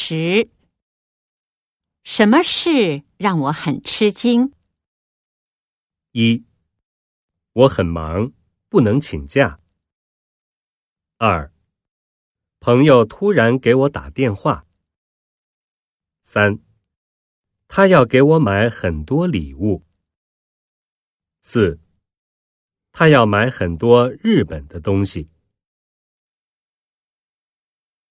10。什么事让我很吃惊 ？1. 我很忙，不能请假。2. 朋友突然给我打电话。3. 他要给我买很多礼物。4. 他要买很多日本的东西。